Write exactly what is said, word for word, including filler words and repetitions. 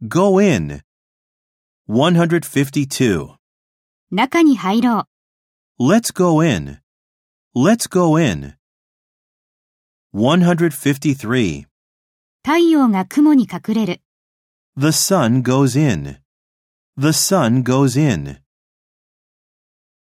Go in. one hundred fifty-two. 中に入ろう。 Let's go in. Let's go in. one hundred fifty-three. 太陽が雲に隠れる。 The sun goes in. The sun goes in.